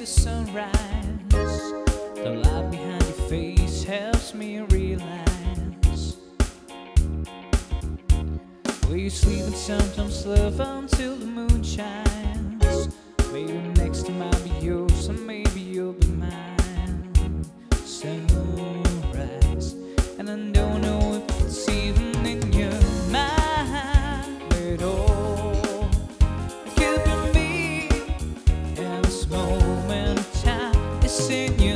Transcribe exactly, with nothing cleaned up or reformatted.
sunrise. The light behind your face helps me realize where you sleep and sometimes love until the moon shines. Maybe next time I'll be yours, and maybe you'll be mine. Sunrise, and I don't know if it's even in your mind at all. It could be me, and this moment of time is in your